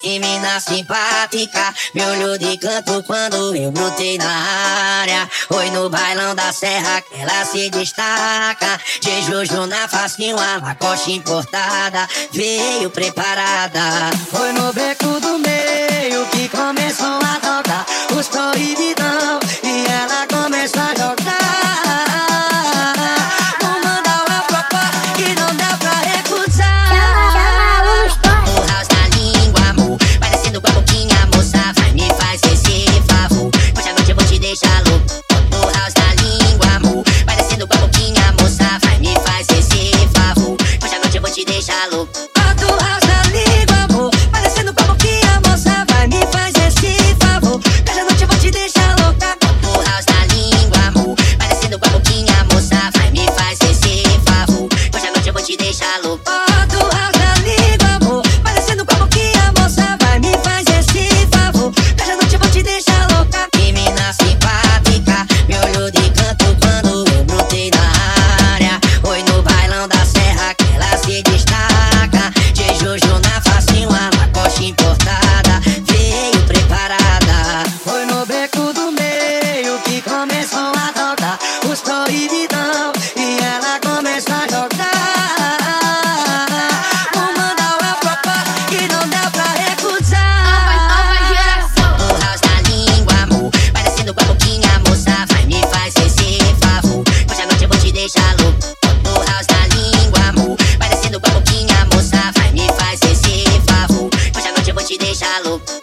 Que mina simpática, me olhou de canto quando eu brotei na área. Foi no bailão da serra que ela se destaca. De Juju na facinho, a Lacoste importada, veio preparada. Foi no beco do meio que começou a tocar os proibidão e ela começou a jogar. Proibidão e ela começa a jogar. Vou mandar uma proposta que não deu pra recusar. No house da língua, amor, vai descendo com a boquinha, moça, vai me fazer esse favor. Hoje à noite eu vou te deixar louco. No house da língua, amor, vai descendo com a boquinha, moça, vai me fazer esse favor. Hoje à noite eu vou te deixar louco.